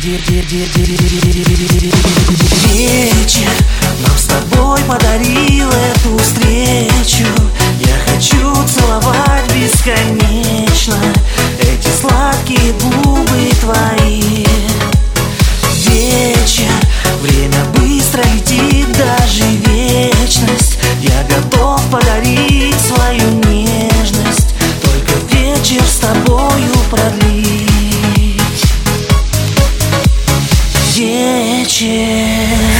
Вечер нам с тобой подарил эту встречу. Я хочу целовать бесконечно эти сладкие губы твои. Вечер, время быстро летит, даже вечность. Я готов подарить свою нежность, только вечер с тобою продлить. Вечер.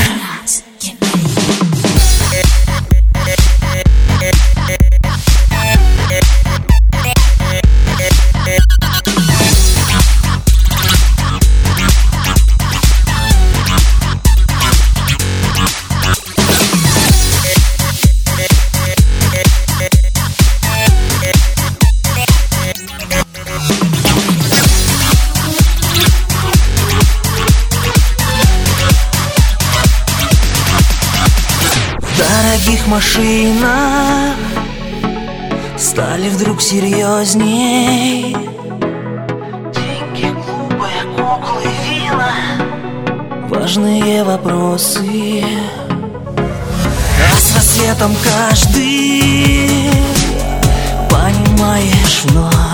В дорогих машинах стали вдруг серьезней. Деньги, клубы, куклы, вина, важные вопросы. А с рассветом каждый, понимаешь, вновь